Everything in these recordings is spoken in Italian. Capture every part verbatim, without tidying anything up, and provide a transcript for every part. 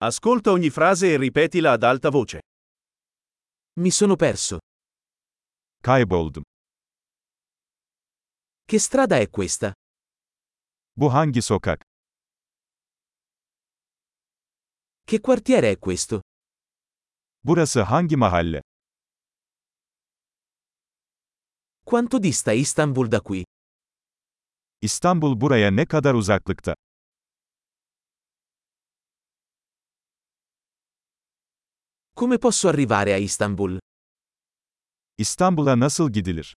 Ascolta ogni frase e ripetila ad alta voce. Mi sono perso. Kayboldum. Che strada è questa? Bu hangi sokak? Che quartiere è questo? Burası hangi mahalle? Quanto dista Istanbul da qui? İstanbul buraya ne kadar uzaklıkta? Come posso arrivare a Istanbul? İstanbul'a nasıl gidilir?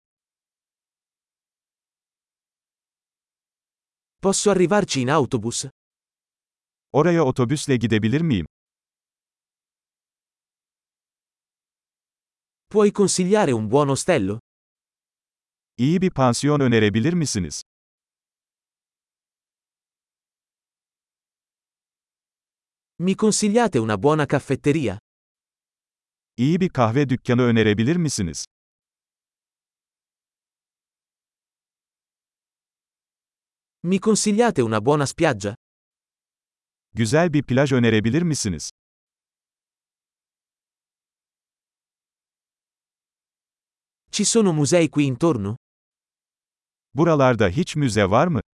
Posso arrivarci in autobus? Oraya otobüsle gidebilir miyim? Puoi consigliare un buon ostello? İyi bir pansiyon önerebilir misiniz? Mi consigliate una buona caffetteria? İyi bir kahve dükkanı önerebilir misiniz? Mi consigliate una buona spiaggia? Güzel bir plaj önerebilir misiniz? Ci sono musei qui intorno? Buralarda hiç müze var mı?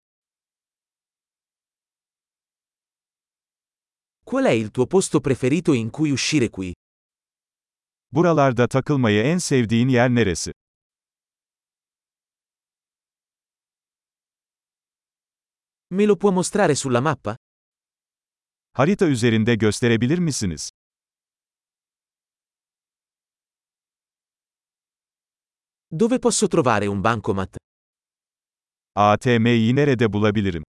Qual è il tuo posto preferito in cui uscire qui? Buralarda takılmayı en sevdiğin yer neresi? Me lo può mostrare sulla mappa? Harita üzerinde gösterebilir misiniz? Dove posso trovare un bancomat? A T M'yi nerede bulabilirim?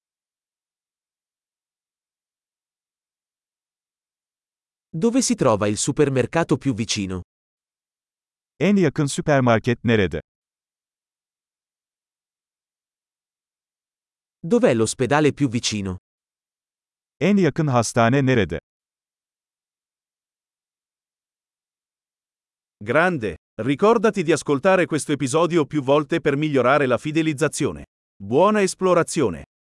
Dove si trova il supermercato più vicino? En yakın süpermarket nerede? Dov'è l'ospedale più vicino? En yakın hastane nerede? Grande! Ricordati di ascoltare questo episodio più volte per migliorare la fidelizzazione. Buona esplorazione!